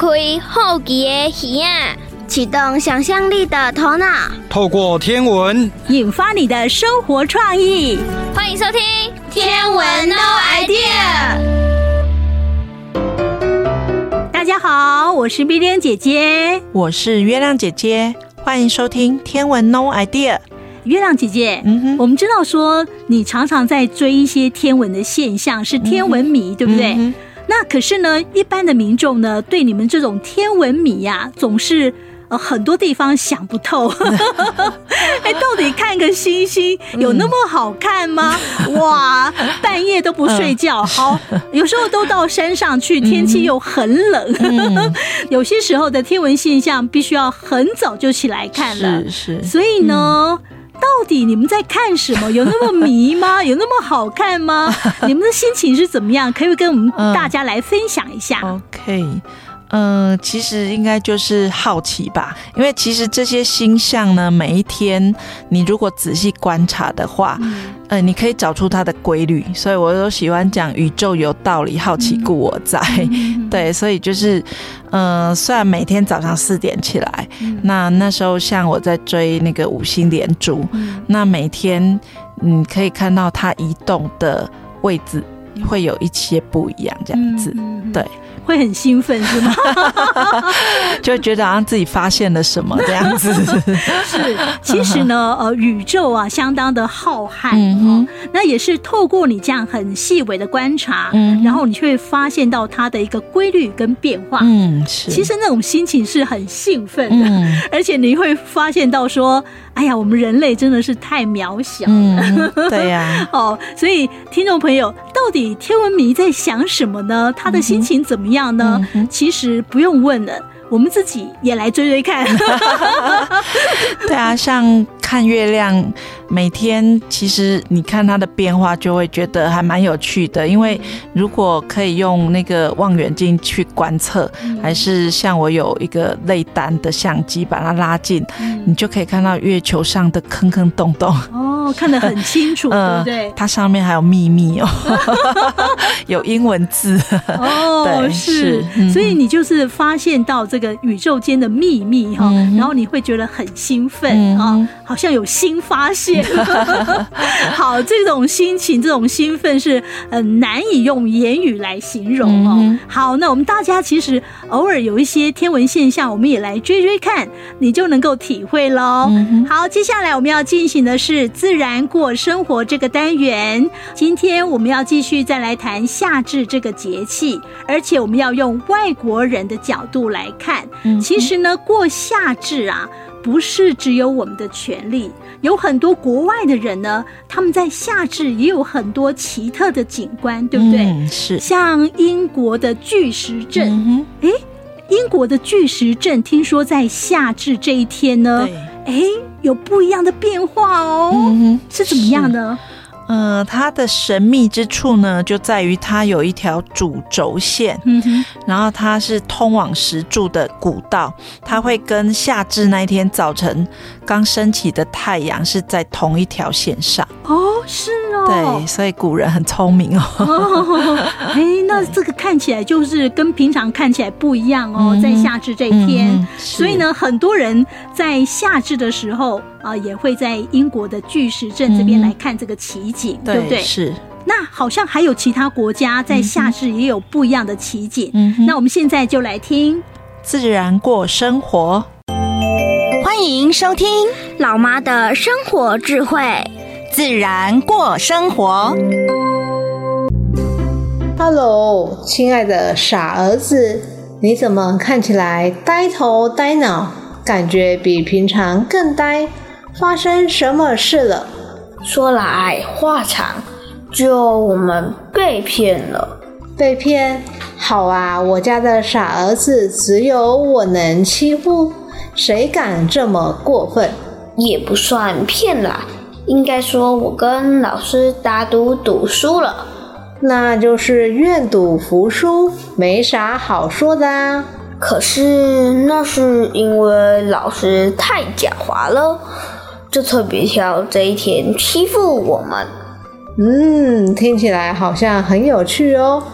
開好奇的耳仔，啟動想象力的頭腦， 透過天文引發你的生活創意。 歡迎收聽天文 No Idea。 大家好，我是碧蓮姐姐， 我是月亮姐姐，歡迎收聽天文 No Idea。 月亮姐姐，我們知道說你常常在追一些天文的現象，是天文迷，對不对？那可是呢，一般的民眾呢，對你們這種天文迷呀，總是很多地方想不透。到底看個星星有那麼好看嗎？哇，半夜都不睡覺，好，有時候都到山上去，天氣又很冷。有些時候的天文現象必須要很早就起來看了， 是。 所以呢，到底你們在看什麼？有那麼迷嗎？有那麼好看嗎？你們的心情是怎麼樣？可以跟我們大家來分享一下。 OK。其實應該就是好奇吧，因為其實這些星象呢，每一天你如果仔細觀察的話，你可以找出它的規律，所以我都喜歡講宇宙有道理，好奇故我在。對，所以就是雖然每天早上4點起來，那時候像我在追那個5星連珠，那每天你可以看到它移動的位置會有一些不一樣，這樣子，對。 會很興奮是嗎？ 就覺得好像自己發現了什麼這樣子。 是，其實呢，宇宙啊相當的浩瀚，那也是透過你這樣很細微的觀察，然後你就會發現到它的一個規律跟變化。是。其實那種心情是很興奮的，而且你會發現到說，哎呀，我們人類真的是太渺小了。對呀。所以聽眾朋友，到底天文迷在想什麼呢？他的心情怎麼樣呢？其實不用問了，我們自己也來追追看。 對啊，像看月亮，每天其實你看它的變化，就會覺得還蠻有趣的。因為如果可以用那個望遠鏡去觀測，還是像我有一個類單的相機把它拉近，你就可以看到月球上的坑坑洞洞。 看得很清楚，對不對？ 它上面還有秘密哦，有英文字對，是，所以你就是發現到這個宇宙間的秘密哈，然後你會覺得很興奮啊，好像有新發現。好，這種心情，這種興奮是難以用言語來形容哦。好，那我們大家其實偶爾有一些天文現象，我們也來追追看，你就能夠體會咯。好，接下來我們要進行的是自然過生活這個單元，今天我們要繼續再來談夏至這個節氣，而且我們要用外國人的角度來看。其實呢，過夏至啊，不是只有我們的權利，有很多國外的人呢，他們在夏至也有很多奇特的景觀，對不對？是，像英國的巨石陣，英國的巨石陣聽說在夏至這一天呢，有不一樣的變化哦。是怎麼樣呢？ 它的神秘之處呢，就在於它有一條主軸線，然後它是通往石柱的古道，它會跟夏至那一天早晨剛升起的太陽是在同一條線上。是哦，對，所以古人很聰明哦。 那這個看起來就是跟平常看起來不一樣哦，在夏至這一天，所以呢，很多人在夏至的時候也會在英國的巨石陣這邊來看這個奇景，對不對？是。那好像還有其他國家在夏至也有不一樣的奇景。那我們現在就來聽自然過生活。 歡迎收聽老媽的生活智慧， 自然過生活。 Hello， 親愛的傻兒子，你怎麼看起來呆頭呆腦，感覺比平常更呆？發生什麼事了？ 說來話長，就我們被騙了。 被騙？好啊，我家的傻兒子只有我能欺負，誰敢這麼過分？ 也不算騙啦，應該說我跟老師打賭賭輸了。 那就是願賭服輸，沒啥好說的啊。 可是那是因為老師太狡猾了，就特別挑這一天欺負我們。 聽起來好像很有趣哦。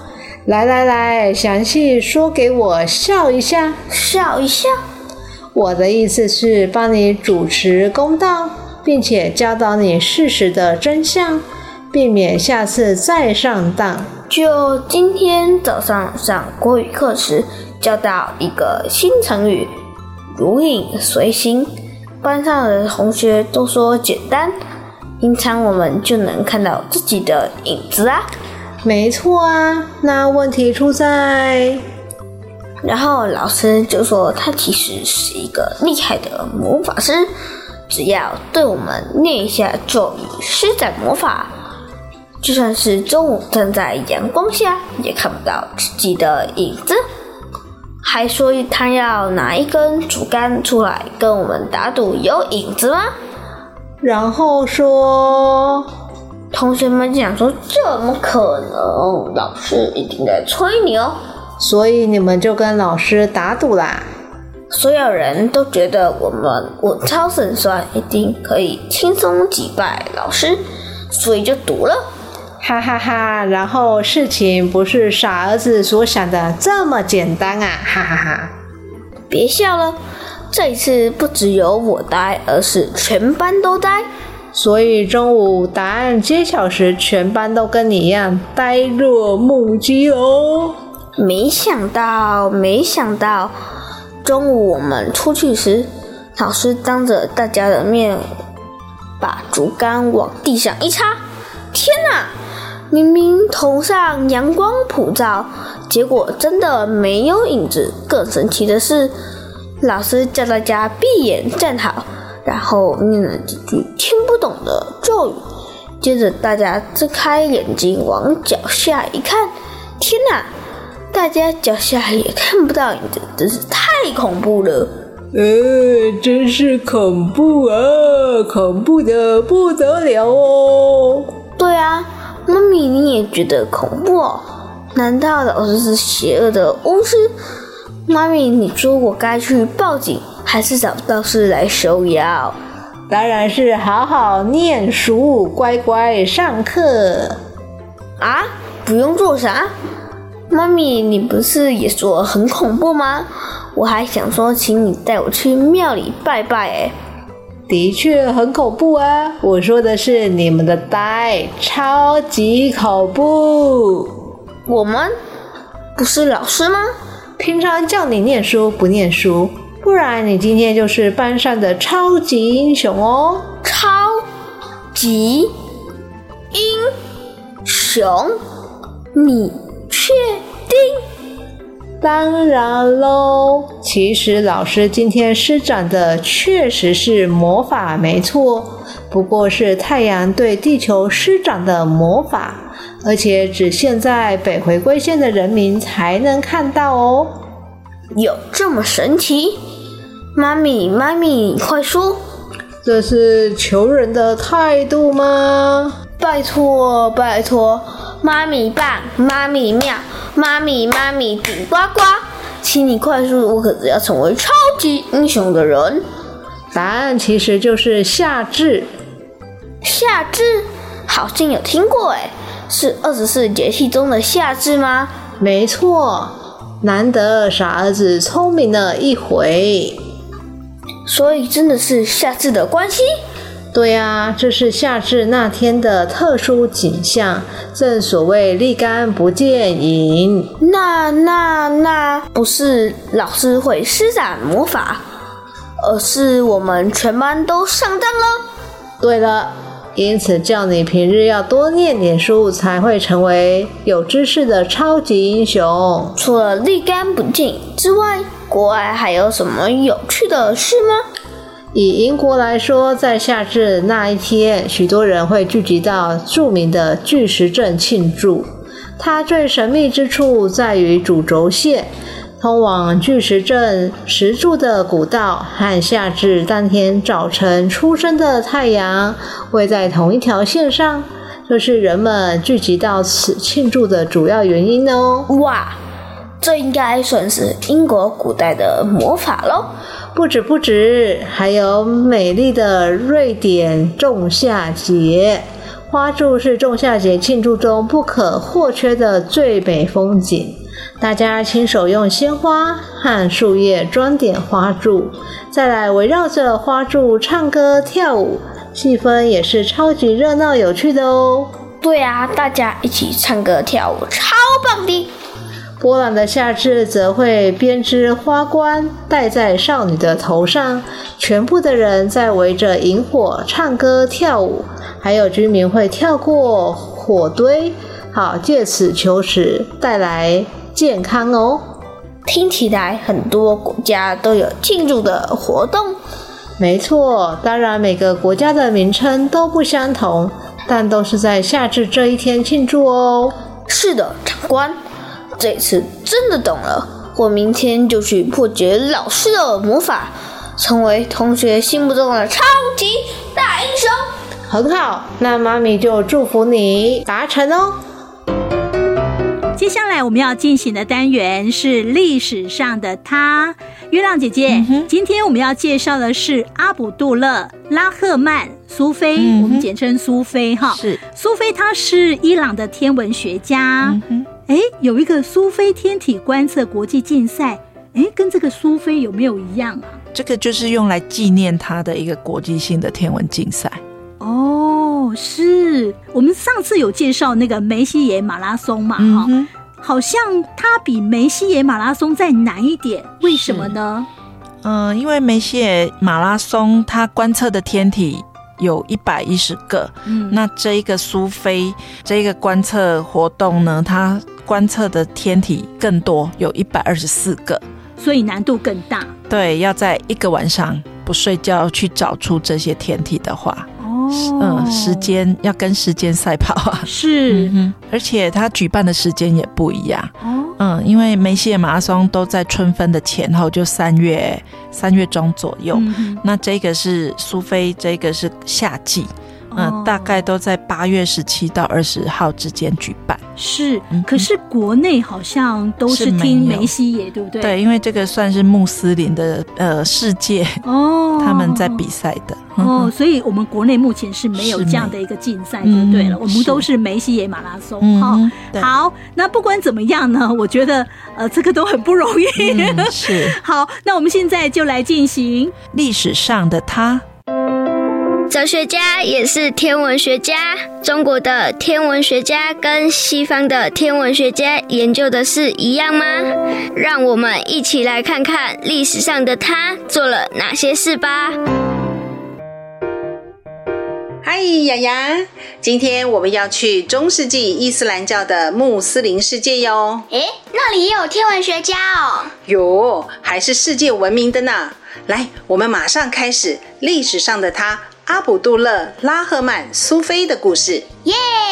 來，詳細說給我笑一下。 笑一下？ 我的意思是幫你主持公道，並且教導你事實的真相，避免下次再上當。 就今天早上上國語課時，教到一個新成語“如影隨形”，班上的同學都說簡單，平常我們就能看到自己的影子啊。 沒錯啊，那問題出在…… 然後老師就說他其實是一個厲害的魔法師，只要對我們念一下咒語，施展魔法，就算是中午站在陽光下也看不到自己的影子。還說他要拿一根竹竿出來跟我們打賭有影子嗎？ 然後說， 同學們講說怎麼可能，老師一定在催你哦。 所以你們就跟老師打賭啦。 所有人都覺得我們稳操勝算，一定可以輕鬆擊敗老師，所以就賭了。 哈哈哈，然後事情不是傻兒子所想的這麼簡單啊，哈哈哈。 別笑了，這一次不只有我呆，而是全班都呆。 所以中午答案揭曉時，全班都跟你一樣呆若木雞哦。 沒想到，中午我們出去時，老師當着大家的面把竹竿往地上一插。天哪！明明頭上陽光普照，結果真的沒有影子。更神奇的是，老師叫大家閉眼站好，然後念了幾句聽不懂的咒語。接着大家睜開眼睛往腳下一看，天哪！大家腳下也看不到影子，真是太恐怖了。 真是恐怖啊，恐怖的不得了哦。 對啊，媽咪你也覺得恐怖哦？難道老師是邪惡的巫師？媽咪你說我該去報警，還是找道士來收妖？ 當然是好好念書，乖乖上課。 啊？不用做啥？媽咪，你不是也說很恐怖嗎？我還想說，請你帶我去廟裡拜拜。 的確很恐怖啊！我說的是你們的呆，超級恐怖。 我們不是老師嗎？ 平常叫你念書不念書，不然你今天就是班上的超級英雄哦。 超級英雄？你確定？ 當然嘍，其實老師今天施展的確實是魔法沒錯，不過是太陽對地球施展的魔法，而且只限在北回歸線的人民才能看到哦。 有這麼神奇？媽咪，你快說， 這是求人的態度嗎？ 拜託，媽咪棒，媽咪妙，媽咪頂呱呱，請你快說，我可是要成為超級英雄的人。 答案其實就是夏至。 夏至？好像有聽過誒，是24節氣中的夏至嗎？ 沒錯，難得傻兒子聰明了一回。 所以真的是夏至的關係？ 對啊，這是夏至那天的特殊景象，正所謂立竿不見影。 那不是老師會施展魔法，而是我們全班都上當了。 對了，因此叫你平日要多念點書，才會成為有知識的超級英雄。 除了立竿不見影之外，國外還有什麼有趣的事嗎？ 以英國來說，在夏至那一天，許多人會聚集到著名的巨石陣慶祝。它最神秘之處在於主軸線，通往巨石陣石柱的古道和夏至當天早晨出生的太陽位在同一條線上，這是人們聚集到此慶祝的主要原因哦。 哇，這應該算是英國古代的魔法咯。 不止，還有美麗的瑞典仲夏節。 花柱是仲夏節慶祝中不可或缺的最美風景。大家親手用鮮花和樹葉裝點花柱，再來圍繞着花柱唱歌跳舞，氣氛也是超級熱鬧有趣的哦。 對啊，大家一起唱歌跳舞，超棒的。 波蘭的夏至則會編織花冠戴在少女的頭上，全部的人在圍着營火唱歌跳舞，還有居民會跳過火堆，好借此求食，帶來健康哦。 聽起來很多國家都有慶祝的活動。 沒錯，當然每個國家的名稱都不相同，但都是在夏至這一天慶祝哦。 是的，長官，這次真的懂了，我明天就去破解老師的魔法，成為同學心目中的超級大英雄。 很好，那媽咪就祝福你達成哦。 接下來我們要進行的單元是歷史上的他。月亮姐姐，今天我們要介紹的是阿卜杜勒·拉赫曼·蘇菲，我們簡稱蘇菲哈。 是蘇菲，他是伊朗的天文學家。有一個蘇菲天體觀測國際競賽，跟這個蘇菲有沒有一樣啊？ 這個就是用來紀念他的一個國際性的天文競賽。 哦，是我們上次有介紹那個梅西耶馬拉松嘛，好像它比梅西耶馬拉松再難一點，為什麼呢？ 因為梅西耶馬拉松它觀測的天體有110個，那這一個蘇菲這一個觀測活動呢，它觀測的天體更多，有124個， 所以難度更大。 對，要在一個晚上不睡覺去找出這些天體的話，時間要跟時間賽跑啊， 是， 而且他舉辦的時間也不一樣，因為梅西耶馬拉松都在春分的前後，就3月中左右，那這個是蘇菲，這個是夏季，大概都在8月17到20號之間舉辦。 是，可是國內好像都是聽梅西耶，对不对？ 對，因為這個算是穆斯林的世界他們在比賽的所以我們國內目前是沒有這樣的一個競賽就對了，我們都是梅西耶馬拉松。好，那不管怎麼樣呢，我覺得這個都很不容易。 是。 好，那我們現在就來進行歷史上的他。 哲學家也是天文學家，中國的天文學家跟西方的天文學家研究的是一樣嗎？讓我們一起來看看歷史上的他做了哪些事吧。 嗨，雅雅，今天我們要去中世紀伊斯蘭教的穆斯林世界喲。 那裡也有天文學家哦。 有，還是世界聞名的呢。來，我們馬上開始歷史上的他阿卜杜勒·拉赫曼·蘇菲的故事。 耶！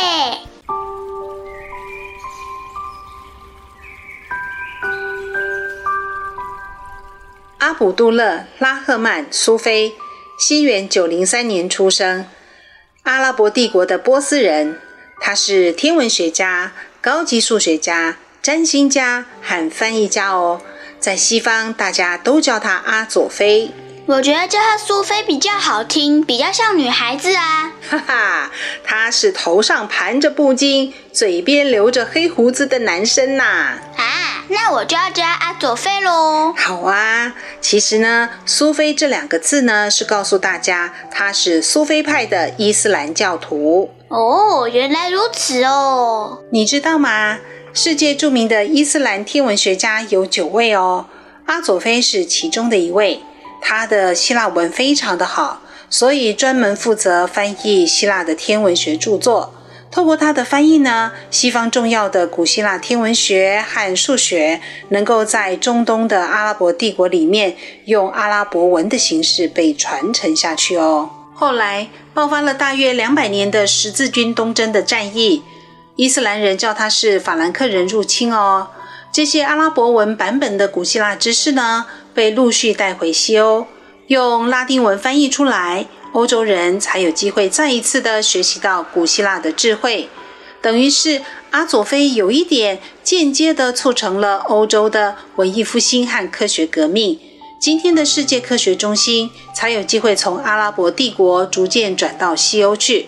阿卜杜勒·拉赫曼·蘇菲，西元903年出生，阿拉伯帝國的波斯人。他是天文學家、高級數學家、占星家和翻譯家哦。在西方，大家都叫他阿佐菲。 我覺得叫她蘇菲比較好聽，比較像女孩子啊。 哈哈，他是頭上盤着布巾，嘴邊留着黑鬍子的男生吶。 那我就要叫阿佐菲咯。 好啊，其實呢，蘇菲這2個字呢，是告訴大家他是蘇菲派的伊斯蘭教徒。 哦，原來如此哦。 你知道嗎？世界著名的伊斯蘭天文學家有9位哦，阿佐菲是其中的一位。他的希臘文非常的好，所以專門負責翻譯希臘的天文學著作。透過他的翻譯呢，西方重要的古希臘天文學和數學能夠在中東的阿拉伯帝國裡面用阿拉伯文的形式被傳承下去哦。後來爆發了大約200年的十字軍東征的戰役，伊斯蘭人叫它是法蘭克人入侵哦。這些阿拉伯文版本的古希臘知識呢，被陸續帶回西歐，用拉丁文翻譯出來，歐洲人才有機會再一次的學習到古希臘的智慧。等於是阿佐菲有一點間接的促成了歐洲的文藝復興和科學革命。今天的世界科學中心才有機會從阿拉伯帝國逐漸轉到西歐去。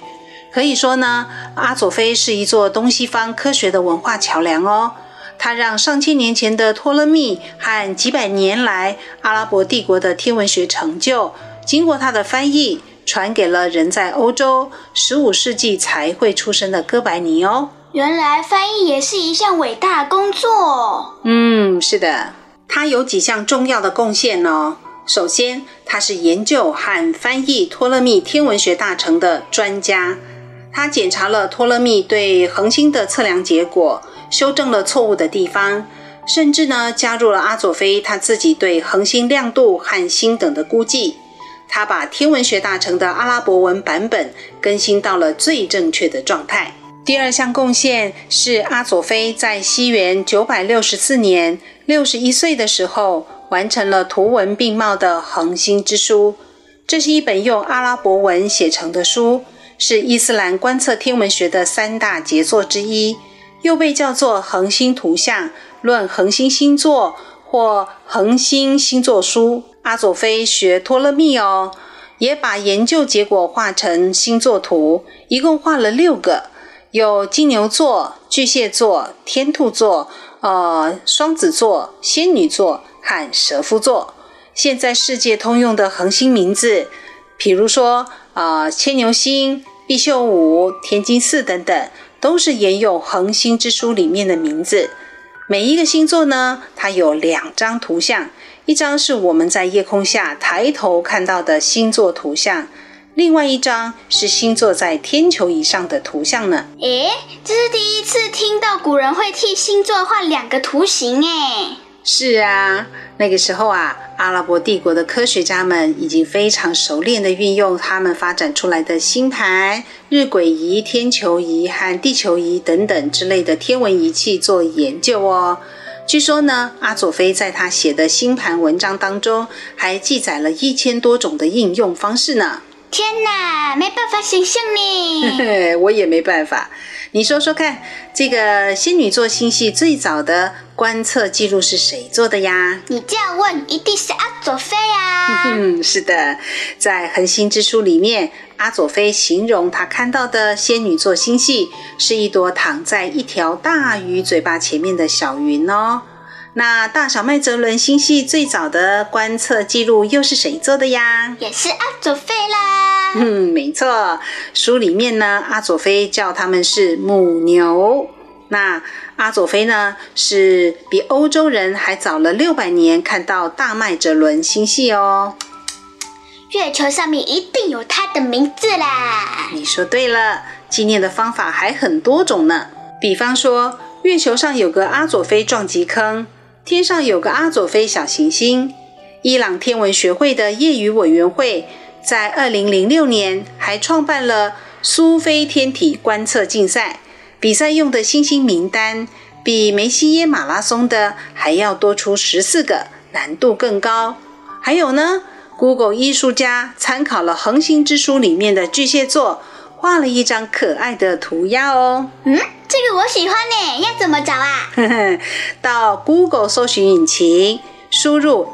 可以說呢，阿佐菲是一座東西方科學的文化橋樑哦。它讓上千年前的托勒密和幾百年來阿拉伯帝國的天文學成就，經過他的翻譯，傳給了人在歐洲15世紀才會出生的哥白尼哦。 原來翻譯也是一項偉大的工作。 是的，他有幾項重要的貢獻哦。首先，他是研究和翻譯托勒密天文學大成的專家。他檢查了托勒密對恆星的測量結果，修正了錯誤的地方，甚至呢加入了阿佐菲他自己對恆星亮度和星等的估計。他把天文學大成的阿拉伯文版本更新到了最正確的狀態。第二項貢獻是阿佐菲在西元964年61歲的時候完成了圖文並茂的恆星之書。這是一本用阿拉伯文寫成的書，是伊斯蘭觀測天文學的3大傑作之一，又被叫做恆星圖像、論恆星星座或恆星星座書。阿佐菲學托勒密哦，也把研究結果畫成星座圖，一共畫了6個，有金牛座、巨蟹座、天兔座、雙子座、仙女座和蛇夫座。現在世界通用的恆星名字，比如說牽牛星、畢宿五、天津四等等，都是沿用恆星之書裡面的名字。每一個星座呢，它有2張圖像，一張是我們在夜空下抬頭看到的星座圖像，另外一張是星座在天球以上的圖像呢。 這是第一次聽到古人會替星座畫2個圖形耶。 是啊，那個時候啊，阿拉伯帝國的科學家們已經非常熟練地運用他們發展出來的星盤、日晷儀、天球儀和地球儀等等之類的天文儀器做研究哦。據說呢，阿佐菲在他寫的星盤文章當中，還記載了1000多種的應用方式呢。 天哪，沒辦法想象呢。 我也沒辦法。你說說看，這個仙女座星系最早的觀測記錄是誰做的呀？ 你這樣問，一定是阿佐菲啊。 是的，在恆星之書裡面，阿佐菲形容他看到的仙女座星系是一朵躺在一條大魚嘴巴前面的小雲哦。那大小麥哲倫星系最早的觀測記錄又是誰做的呀？ 也是阿佐菲啦。 沒錯，書裡面呢，阿佐菲叫他們是母牛。那阿佐菲呢，是比歐洲人還早了600年看到大麥哲倫星系哦。 月球上面一定有他的名字啦。 你說對了，紀念的方法還很多種呢。比方說，月球上有個阿佐菲撞擊坑，天上有個阿佐菲小行星。伊朗天文學會的業餘委員會在2006年還創辦了蘇菲天體觀測競賽，比賽用的星星名單比梅西耶馬拉松的還要多出14個，難度更高。還有呢， Google 藝術家參考了恆星之書裡面的巨蟹座，畫了一張可愛的塗鴉哦。 這個我喜歡呢，要怎麼找啊？ 到 Google 搜尋引擎輸入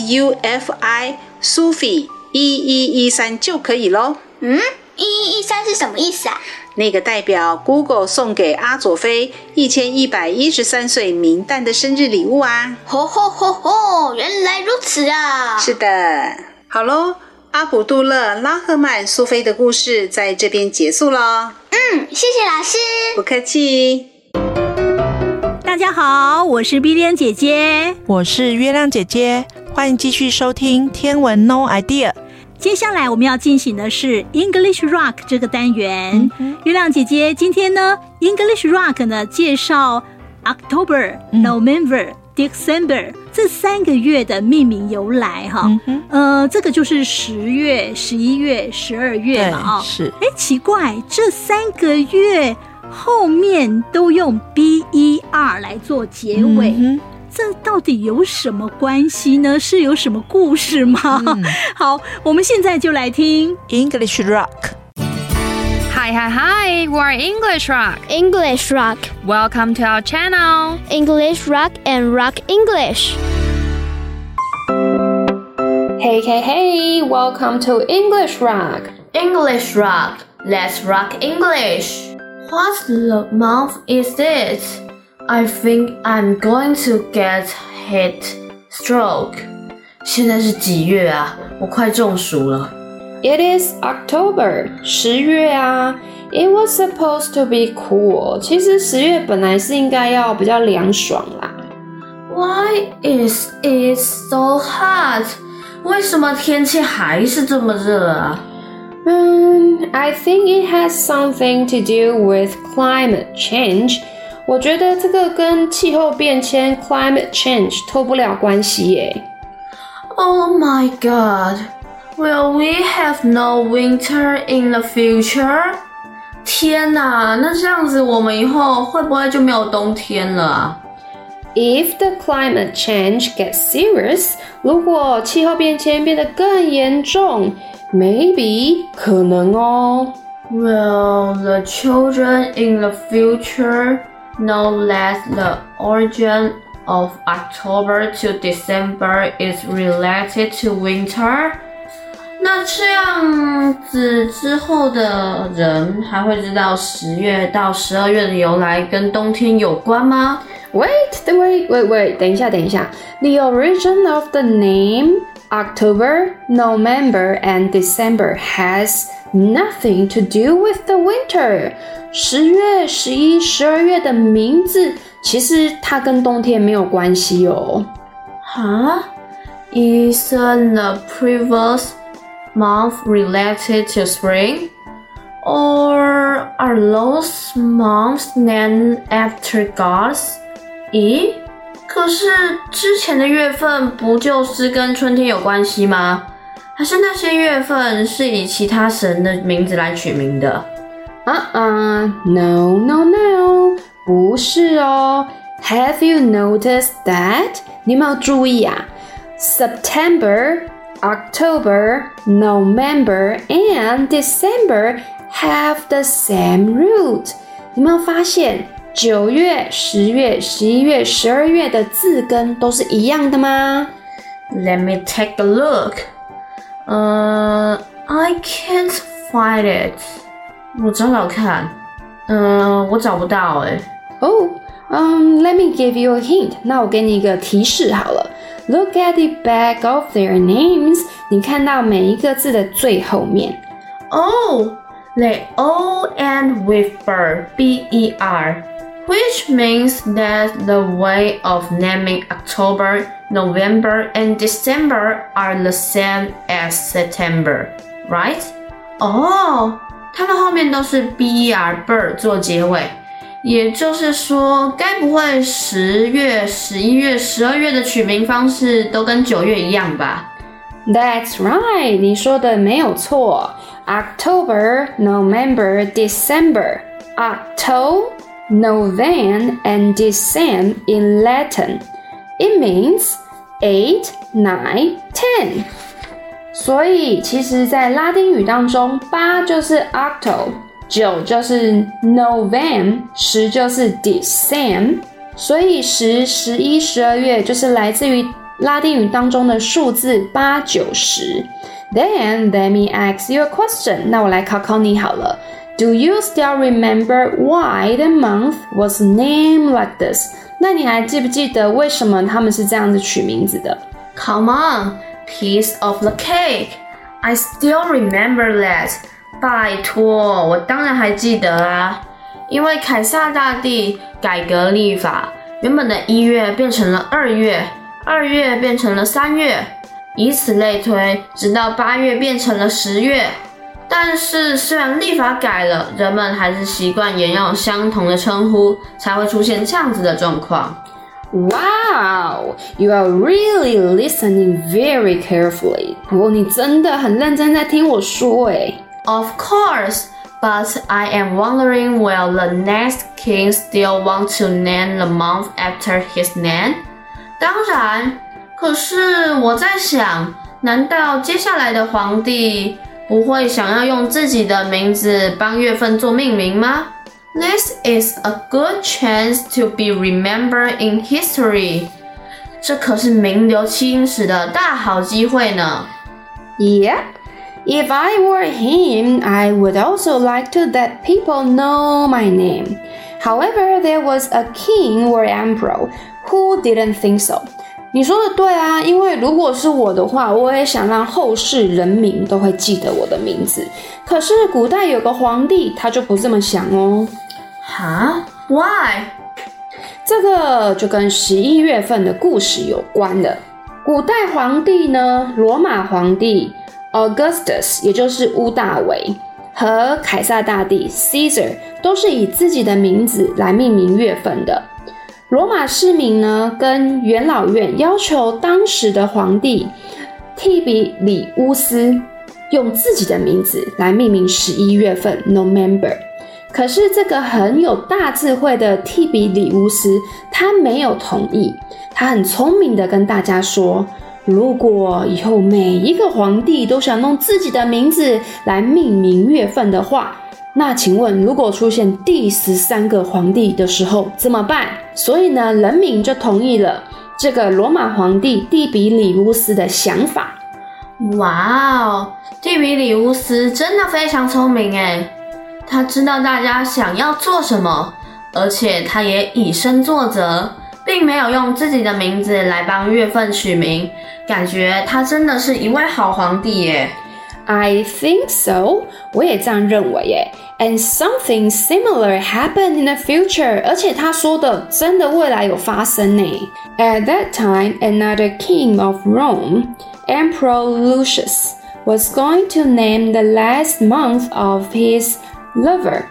SUFI Sufi 1113就可以咯。 1113是什麼意思啊？ 那個代表 Google 送給阿佐菲1113歲冥誕的生日禮物啊。 原來如此啊。 是的。好咯，阿卜杜勒·拉赫曼蘇菲的故事在這邊結束咯。 謝謝老師。 不客氣。 大家好，我是 Billian 姐姐， 我是月亮姐姐，歡迎繼續收聽天文 No Idea。 接下來我們要進行的是 English Rock 這個單元。月亮姐姐今天呢 English Rock 呢介紹 October、November、December 這3個月的命名由來哈。這個就是10月、11月、12月嘛。 是。 奇怪，這3個月後面都用 BER 來做結尾。這到底有什麼關係呢？是有什麼故事嗎？好，我們現在就來聽 English Rock。 Hi, we're English Rock. English Rock. Welcome to our channel. English Rock and Rock English. Hey, welcome to English Rock. English Rock. Let's rock English. What the month is it? I think I'm going to get heat stroke. 现在是幾月啊？我快中暑了。 It is October, 10月啊。It was supposed to be cool. 其實10月本來是應該要比較涼爽啦。 Why is it so hot? 為什麼天氣還是這麼熱啊 ？I think it has something to do with climate change. 我覺得這個跟氣候變遷 climate change 脫不了關係耶。 Oh my god. Will we have no winter in the future? 天哪，那這樣子我們以後會不會就沒有冬天了啊 ？If the climate change gets serious, 如果氣候變遷變得更嚴重 ，maybe 可能哦。 Will the children in the future know that the origin of October to December is related to winter? 那這樣子之後的人還會知道10月到12月的由來跟冬天有關嗎 ？Wait, 等一下。The origin of the name October, November, and December has nothing to do with the winter. 10月、11、12月的名字其實它跟冬天沒有關係哦。 Huh? Isn't the previous month related to spring? Or are those months named after gods? 咦，可是之前的月份不就是跟春天有關係嗎？還是那些月份是以其他神的名字來取名的 ？No, 不是哦。Have you noticed that? 你有沒有注意啊？ September, October, November, and December have the same root. 你有沒有發現9月、10月、11月、12月的字根都是一樣的嗎？ Let me take a look. I can't find it. 我找找看。我找不到欸。 Let me give you a hint. 那我給你一個提示好了。Look at the back of their names. 你看到每一個字的最後面。 They all end with ber, B-E-R, which means that the way of naming October, November, and December are the same as September, right? 它們後面都是 B-E-R, ber 做結尾，也就是說，該不會10月、11月、12月的取名方式都跟9月一樣吧 ？That's right, 你說的沒有錯。October, November, December. Octo, November, and December in Latin. It means 8, 9, 10. 所以其實在拉丁語當中，8就是Octo, 9就是November, 10就是 December. 所以10、11、12月就是來自於拉丁語當中的數字8、9、10。Then let me ask you a question. 那我來考考你好了。Do you still remember why the month was named like this? 那你還記不記得為什麼他們是這樣子取名字的？ Come on, piece of the cake. I still remember that. 拜托，我當然還記得啊。因為凱撒大帝改革曆法，原本的1月變成了2月，2月變成了3月。以此類推，直到8月變成了10月。但是雖然曆法改了，人們還是習慣沿用相同的稱呼，才會出現這樣子的狀況。 Wow, you are really listening very carefully. 你真的很認真在聽我說耶。 Of course, but I am wondering will the next king still want to name the month after his name? 當然。可是我在想，難道接下來的皇帝不會想要用自己的名字幫月份做命名嗎？ This is a good chance to be remembered in history. 這可是名留青史的大好機會呢。 Yep, If I were him, I would also like to let people know my name. However, there was a king or emperor who didn't think so. 你說的對啊，因為如果是我的話，我也想讓後世人民都會記得我的名字。可是古代有個皇帝，他就不這麼想哦。 哈 ？Why？ 這個就跟11月份的故事有關的。古代皇帝呢，羅馬皇帝 Augustus， 也就是烏大維，和凱撒大帝 Caesar 都是以自己的名字來命名月份的。羅馬市民呢，跟元老院要求當時的皇帝提比里烏斯用自己的名字來命名11月份 November。可是這個很有大智慧的提比里烏斯，他沒有同意。他很聰明的跟大家說，如果以後每一個皇帝都想用自己的名字來命名月份的話，那請問如果出現第13個皇帝的時候怎麼辦？所以呢，人民就同意了這個羅馬皇帝提比里烏斯的想法。 哇哦，提比里烏斯真的非常聰明耶，他知道大家想要做什麼，而且他也以身作則，並沒有用自己的名字來幫月份取名，感覺他真的是一位好皇帝耶。 I think so. 我也這樣認為耶。And something similar happened in the future. 而且他說的真的未來有發生呢。At that time, another king of Rome, Emperor Lucius, was going to name the last month of his lover,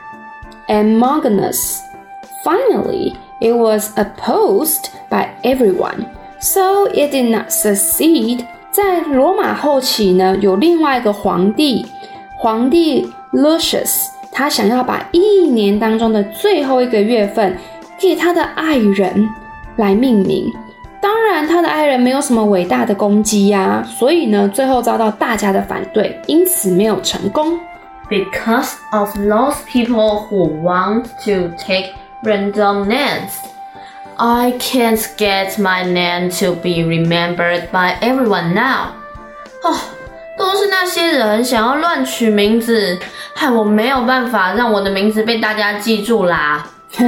Longinus. Finally, it was opposed by everyone, so it did not succeed.在羅馬後期呢，有另外一個皇帝 Lucius， 他想要把一年當中的最後一個月份給他的愛人來命名。當然，他的愛人沒有什麼偉大的功績呀，所以呢，最後遭到大家的反對，因此沒有成功。 Because of those people who want to take random names.I can't get my name to be remembered by everyone now. 都是那些人想要亂取名字，害我沒有辦法讓我的名字被大家記住啦。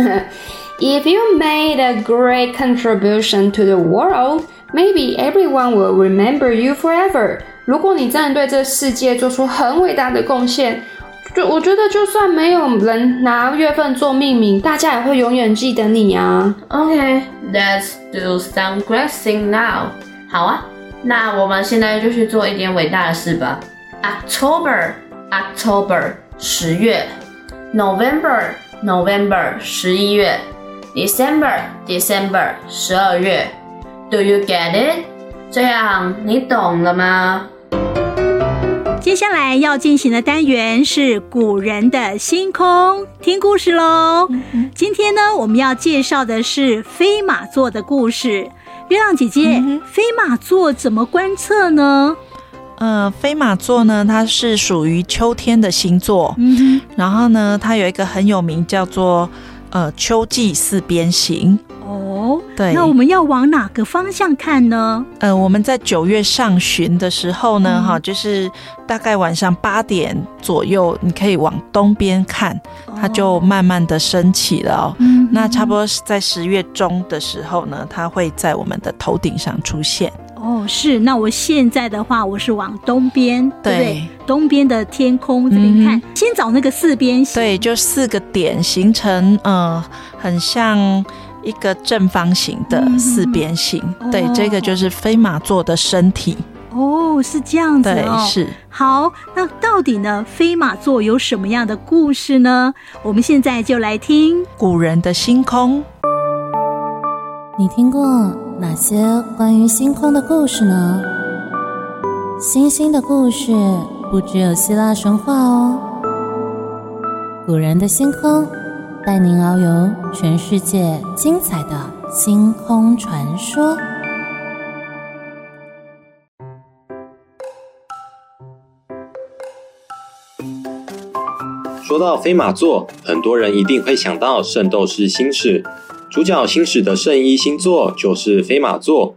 If you made a great contribution to the world, maybe everyone will remember you forever. 如果你真的對這世界做出很偉大的貢獻，我覺得就算沒有人拿月份做命名，大家也會永遠記得你啊。 Okay, let's do some great thing now. 好啊，那我們現在就去做一點偉大的事吧。October, 10月。November, 11月。December, 12月。Do you get it? 這樣你懂了嗎？ 接下來要進行的單元是古人的星空，聽故事咯。今天呢，我們要介紹的是飛馬座的故事。月亮姐姐，飛馬座怎麼觀測呢？ 飛馬座呢，它是屬於秋天的星座。然後呢，它有一個很有名叫做秋季四邊形。對， 那我們要往哪個方向看呢？ 我們在9月上旬的時候呢，就是大概晚上8點左右，你可以往東邊看，它就慢慢的升起了哦。那差不多在10月中的時候呢，它會在我們的頭頂上出現。 是。那我現在的話，我是往東邊，對不對？東邊的天空這邊看，先找那個四邊形。 對，就4個點形成，很像一個正方形的四邊形。對，這個就是飛馬座的身體。 是這樣子哦。 對，是。 好，那到底呢，飛馬座有什麼樣的故事呢？我們現在就來聽古人的星空。 你聽過哪些關於星空的故事呢？星星的故事不只有希臘神話哦。古人的星空帶您遨遊全世界精彩的星空傳說。 說到飛馬座，很多人一定會想到聖鬥士星矢。主角星矢的聖衣星座就是飛馬座。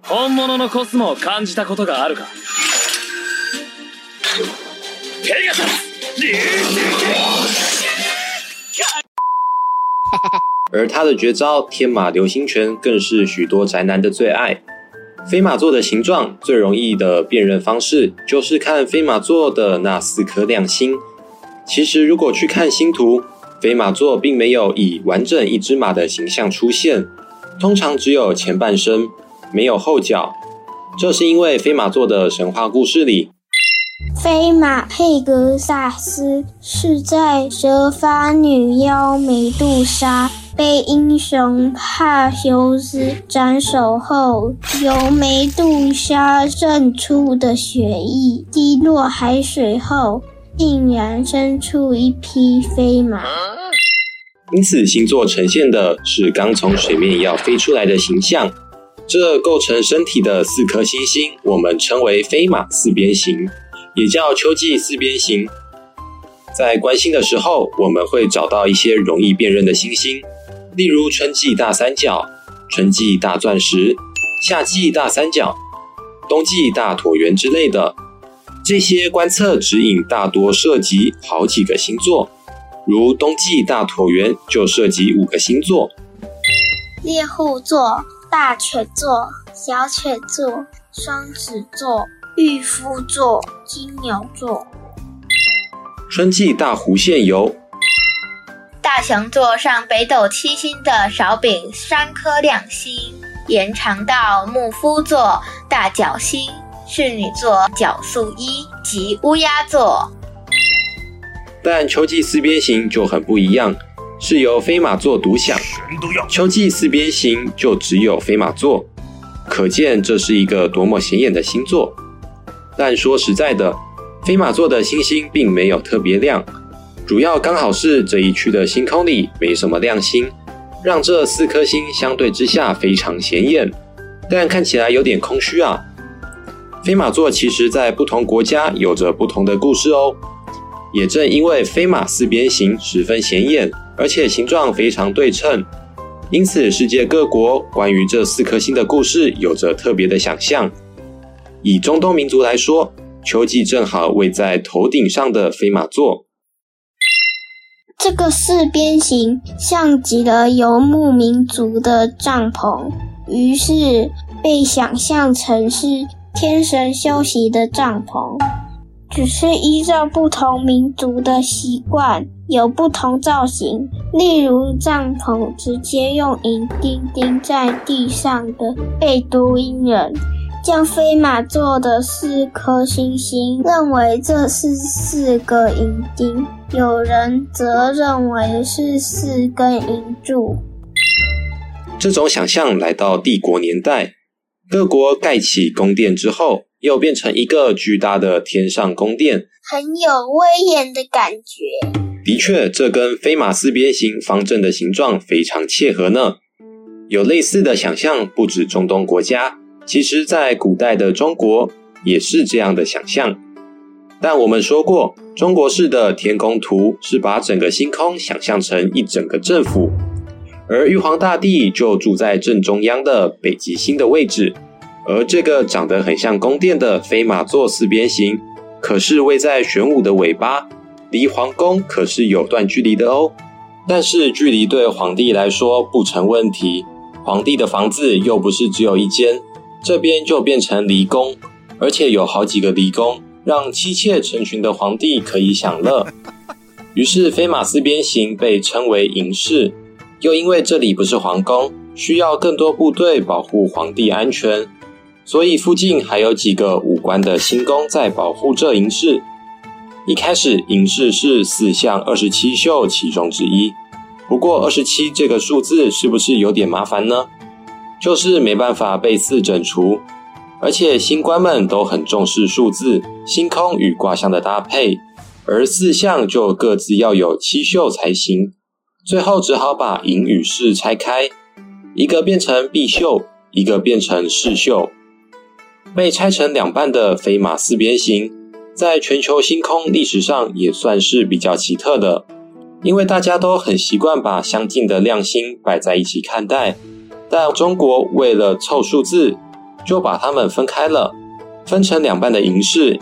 而他的絕招天馬流星拳更是許多宅男的最愛。飛馬座的形狀最容易的辨認方式就是看飛馬座的那4顆亮星。其實如果去看星圖，飛馬座並沒有以完整一隻馬的形象出現，通常只有前半身，沒有後腳。這是因為飛馬座的神話故事裡， 飛馬佩格薩斯是在蛇髮女妖美杜莎被英雄帕修斯斬首後，由美杜莎滲出的血液滴落海水後，竟然生出一匹飛馬。 因此星座呈現的是剛從水面要飛出來的形象。這構成身體的4顆星星，我們稱為飛馬四邊形，也叫秋季四邊形。在觀星的時候，我們會找到一些容易辨認的星星，例如春季大三角、春季大鑽石、夏季大三角、冬季大橢圓之類的。這些觀測指引大多涉及好幾個星座，如冬季大橢圓就涉及5個星座： 獵戶座、大犬座、小犬座、雙子座、御夫座、金牛座。 春季大弧線有大熊座上北斗七星的少丙3顆亮星，延長到牧夫座、大角星、侍女座、角宿一及烏鴉座。 但秋季四邊形就很不一樣，是由飛馬座獨享，秋季四邊形就只有飛馬座，可見這是一個多麼顯眼的星座。但說實在的，飛馬座的星星並沒有特別亮，主要剛好是這一區的星空裡沒什麼亮星，讓這4顆星相對之下非常顯眼，但看起來有點空虛啊。飛馬座其實在不同國家有着不同的故事哦。也正因為飛馬四邊形十分顯眼，而且形狀非常對稱，因此世界各國關於這4顆星的故事有着特別的想象。以中東民族來說，秋季正好位在頭頂上的飛馬座。 這個四邊形像極了游牧民族的帳篷，於是被想象成是天神休息的帳篷。只是依照不同民族的習慣，有不同造型。例如帳篷直接用銀釘釘在地上的貝都因人，將飛馬座的4顆星星認為這是4個銀釘，有人則認為是4根銀柱。 這種想象來到帝國年代，各國蓋起宮殿之後，又變成一個巨大的天上宮殿， 很有威嚴的感覺。 的確，這跟飛馬四邊形方陣的形狀非常切合呢。有類似的想象不止中東國家，其實在古代的中國也是這樣的想象。但我們說過，中國式的天宮圖是把整個星空想象成一整個政府，而玉皇大帝就住在正中央的北極星的位置。而這個長得很像宮殿的飛馬座四邊形，可是位在玄武的尾巴，離皇宮可是有段距離的哦。但是距離對皇帝來說不成問題，皇帝的房子又不是只有一間，這邊就變成離宮，而且有好幾個離宮，讓妻妾成群的皇帝可以享樂。於是飛馬四邊形被稱為營室，又因為這裡不是皇宮，需要更多部隊保護皇帝安全，所以附近還有幾個武官的星宮在保護這營室。一開始營室是4項27宿其中之一，不過27這個數字是不是有點麻煩呢？就是沒辦法被4整除，而且星官們都很重視數字、星空與卦象的搭配，而4項就各自要有7宿才行，最後只好把營與室拆開，一個變成貔宿，一個變成室宿。被拆成2半的飛馬四邊形，在全球星空歷史上也算是比較奇特的，因為大家都很習慣把相近的亮星擺在一起看待，但中國為了湊數字，就把它們分開了，分成2半的營室，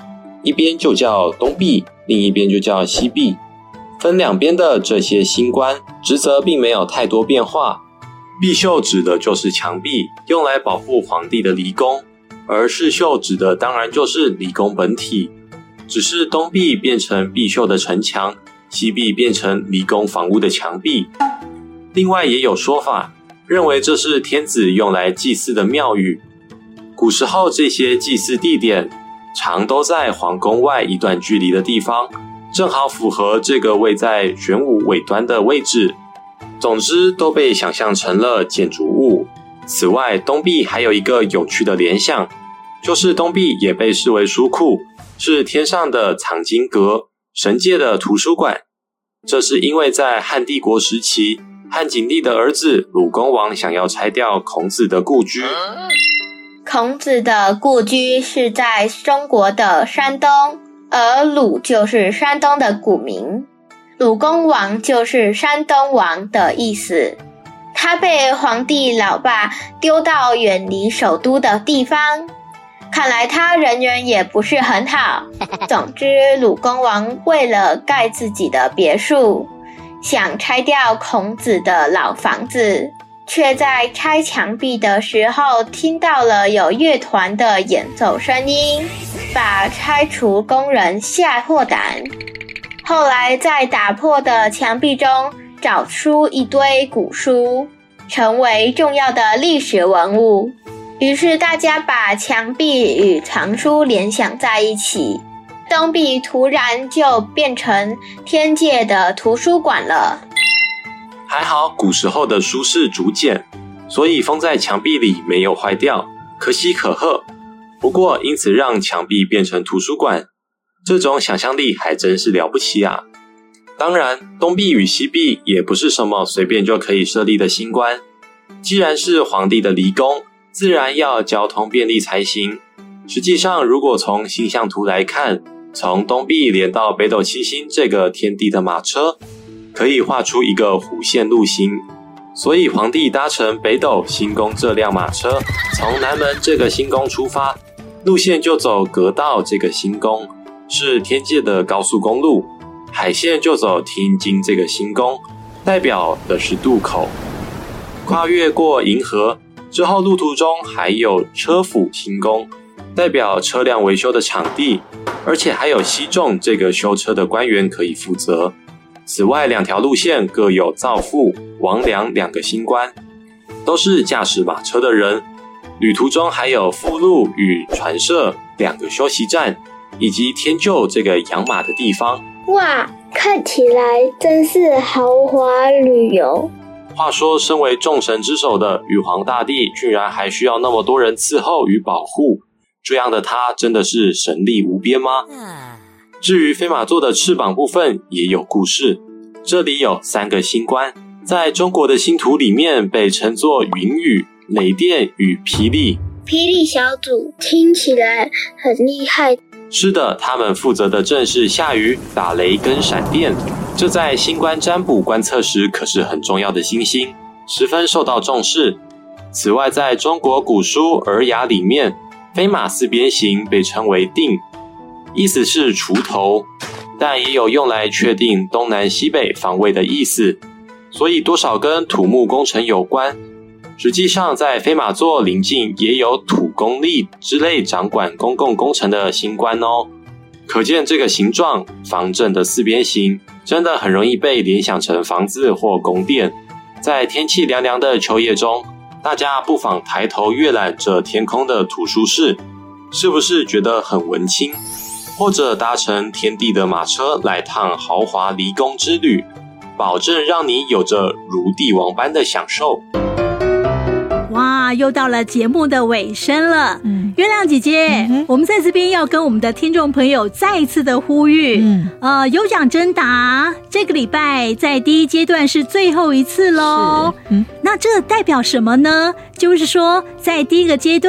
一邊就叫東壁，另一邊就叫西壁。分兩邊的這些星官職責並沒有太多變化。壁繡指的就是牆壁，用來保護皇帝的離宮，而飾繡指的當然就是離宮本體。只是東壁變成壁繡的城牆，西壁變成離宮房屋的牆壁。另外也有說法認為這是天子用來祭祀的廟宇。古時候這些祭祀地點常都在皇宮外一段距離的地方，正好符合這個位在玄武尾端的位置。總之都被想象成了建築物。此外，東壁還有一個有趣的聯想，就是東壁也被視為書庫，是天上的藏經閣，神界的圖書館。這是因為在漢帝國時期，漢景帝的兒子魯公王想要拆掉孔子的故居。 孔子的故居是在中國的山東，而魯就是山東的古名，魯公王就是山東王的意思。他被皇帝老爸丟到遠離首都的地方，看來他人緣也不是很好。總之，魯公王為了蓋自己的別墅，想拆掉孔子的老房子，卻在拆牆壁的時候聽到了有樂團的演奏聲音，把拆除工人嚇破膽。後來在打破的牆壁中找出一堆古書，成為重要的歷史文物。於是大家把牆壁與藏書聯想在一起，東壁突然就變成天界的圖書館了。 還好古時候的書是竹簡，所以封在牆壁裡沒有壞掉，可喜可賀。不過因此讓牆壁變成圖書館，這種想象力還真是了不起啊。當然，東壁與西壁也不是什麼隨便就可以設立的星官，既然是皇帝的離宮，自然要交通便利才行。實際上，如果從星象圖來看，從東壁連到北斗七星這個天帝的馬車，可以畫出一個弧線路型。所以皇帝搭乘北斗星宮這輛馬車，從南門這個星宮出發，路線就走閣道這個星宮，是天界的高速公路。海線就走天津這個星宮，代表的是渡口。跨越過銀河之後，路途中還有車府星宮，代表車輛維修的場地，而且還有西仲這個修車的官員可以負責。此外，兩條路線各有造父、王良兩個星官，都是駕駛馬車的人。旅途中還有復路與船社兩個休息站，以及天厩這個養馬的地方。 哇，看起來真是豪華旅遊。 話說，身為眾神之首的玉皇大帝，居然還需要那麼多人伺候與保護，這樣的他真的是神力無邊嗎？至於飛馬座的翅膀部分也有故事，這裡有3個星官，在中國的星圖裡面被稱作雲雨、雷電與霹靂。 霹靂小組聽起來很厲害。 是的，他們負責的正是下雨、打雷跟閃電，這在星官占卜觀測時可是很重要的星星，十分受到重視。此外，在中國古書《爾雅》裡面，飛馬四邊形被稱為定，意思是鋤頭，但也有用來確定東南西北方位的意思，所以多少跟土木工程有關。實際上，在飛馬座鄰近也有土公力之類掌管公共工程的星官哦。可見這個形狀方正的四邊形，真的很容易被聯想成房子或宮殿。在天氣涼涼的秋夜中，大家不妨抬頭閱覽着天空的圖書室，是不是覺得很文青？或者搭乘天帝的馬車來趟豪華離宮之旅，保證讓你有着如帝王般的享受。 哇，又到了節目的尾聲了。月亮姐姐，我們在這邊要跟我們的聽眾朋友再一次的呼籲，有獎徵答，這個禮拜在第一階段是最後一次咯。那這代表什麼呢？就是說在第一個階段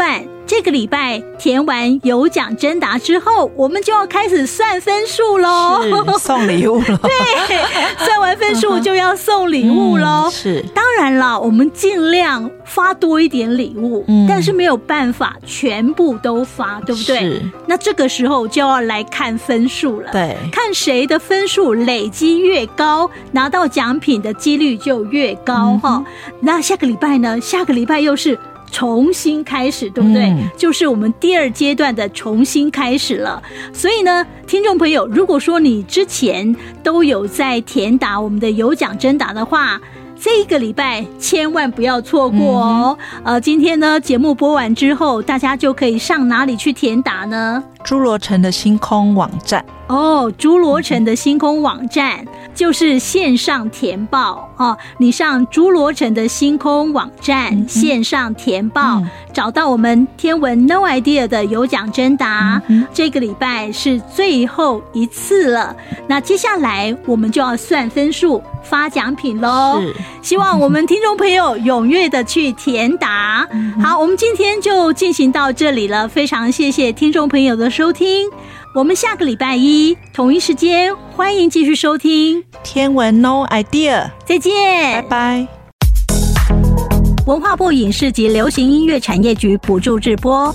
這個禮拜填完有獎徵答之後，我們就要開始算分數咯， 是送禮物咯。 對，算完分數就要送禮物咯。 是， 當然啦，我們盡量發多一點禮物，但是沒有辦法全部都發，對不對？是。那這個時候就要來看分數了， 對， 看誰的分數累積越高，拿到獎品的幾率就越高哈。那下個禮拜呢？下個禮拜又是重新開始，對不對？就是我們第二階段的重新開始了。所以呢，聽眾朋友，如果說你之前都有在填答我們的有獎徵答的話，這一個禮拜千萬不要錯過哦。今天呢，節目播完之後，大家就可以上哪裡去填答呢？ 侏羅城的星空網站。 侏羅城的星空網站就是線上填報哦。你上侏羅城的星空網站線上填報，找到我們天文 No Idea 的有獎徵答。這個禮拜是最後一次了，那接下來我們就要算分數發獎品咯。希望我們聽眾朋友踴躍的去填答。好，我們今天就進行到這裡了，非常謝謝聽眾朋友的收聽。我們下個禮拜一同一時間，歡迎繼續收聽天文 No Idea。 再見， 拜拜。 文化部影視及流行音樂產業局補助製播。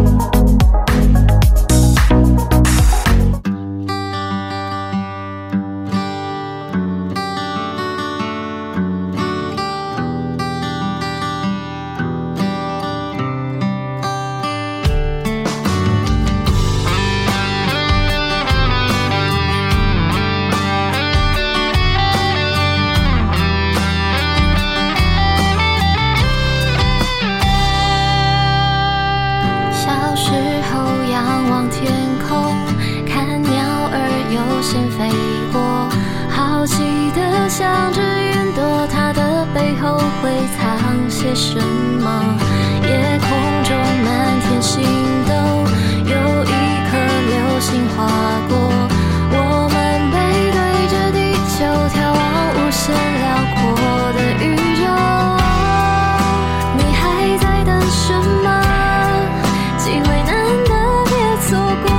向着雲朵，它的背後會藏些什麼？夜空中滿天星斗，有一顆流星劃過，我們背對着地球，眺望無限遼闊的宇宙。你還在等什麼？機會難得，別錯過。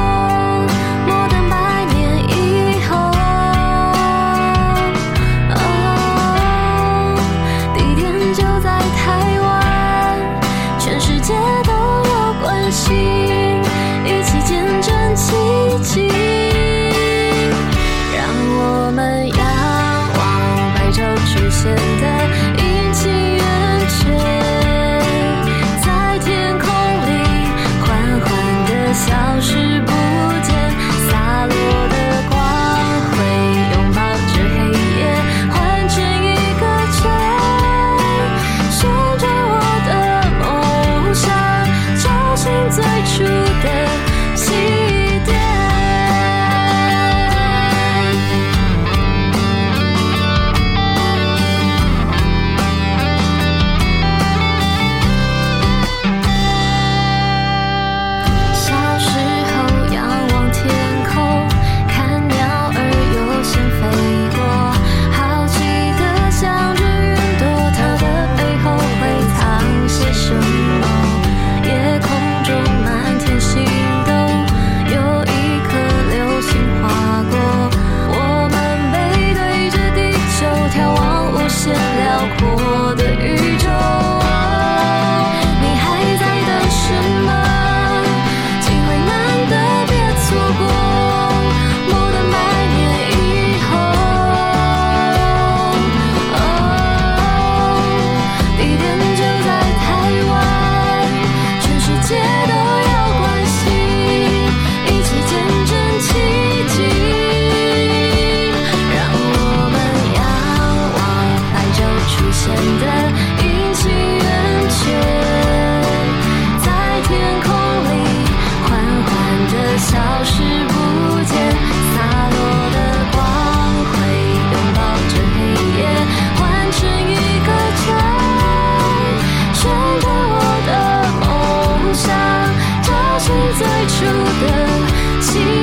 一起見證奇蹟，讓我們仰望白晝出現的陰晴圓缺，在天空裡緩緩地消失不見，灑落的光輝擁抱着黑夜，換成一個圈，旋轉我的夢想，找尋最初的起點。小時候仰望天空，看鳥兒悠閒飛過，好奇地想着雲朵，它的背後會藏些什麼？夜空中滿天星斗，有一顆流星劃過，我們背對着地球，眺望無限遼闊的宇宙。你還在等什麼？機會難得，別錯過。摩登百年以後，地點就在台灣，全世界都要關心，一起見證奇蹟，讓我們仰望白晝出現的陰晴圓缺，在天空裡緩緩地消失不見，灑落的光輝擁抱着黑夜，換成一個圈，旋轉我的夢想，找尋最初的起